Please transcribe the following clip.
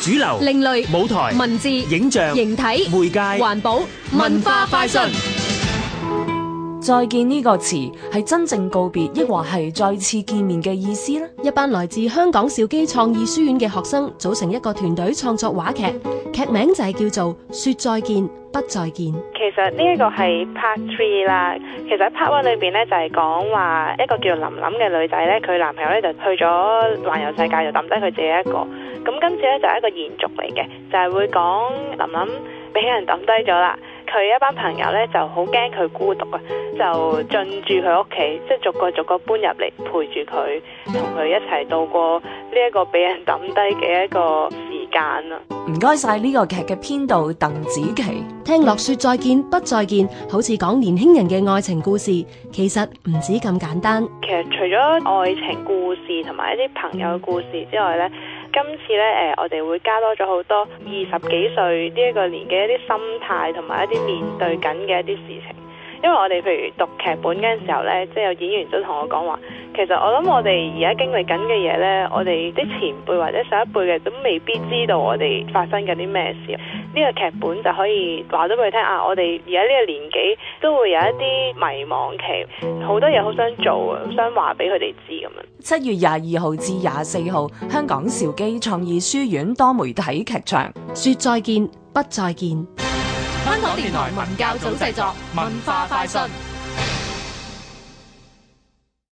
主流、 另類舞台、 文字、 影像、 形體、 媒介、 環保、文化快訊。 再見呢個詞係真正告別，抑或係再次見面嘅意思呢？ 一班來自香港兆基創意書院嘅學生組成一個團隊創作話劇，劇名就係叫做《說再見，不再見》。 其實呢一個係 Part 3啦。其實喺 Part 1裏邊咧就係講話一個叫林琳嘅女仔咧，佢男朋友咧就去咗環遊世界，就抌低佢自己一個。咁今次咧就係一個延續嚟嘅，就係會講林琳俾人抌低咗啦。佢一班朋友咧就好驚佢孤獨啊，就進駐佢屋企，即係逐個搬入嚟陪住佢，同佢一齊度過呢一個俾人抌低嘅一個時間啦。 唔該晒呢個劇嘅編導鄧紫棋。 聽落說再見不再見，好似講年輕人嘅愛情故事，其實唔止咁簡單。 其實除咗愛情故事同埋一啲朋友嘅故事之外呢，今次呢，我哋會加多咗好多20幾歲呢一個年紀一啲心態同埋一啲面對緊嘅一啲事情。因為我哋譬如讀劇本嗰陣時候呢，即係有演員都同我講話，其實我諗我哋而家經歷緊嘅嘢呢，我哋啲前輩或者上一輩嘅都未必知道我哋發生緊啲咩事。呢個劇本就可以話咗俾佢聽啊！我哋而家呢個年紀都會有一啲迷茫期，好多嘢好想做啊，想話俾佢哋知咁樣。 7月22號至24號，香港兆基創意書院多媒體劇場， 說再見，不再見。 香港電台文教組製作，文化快訊。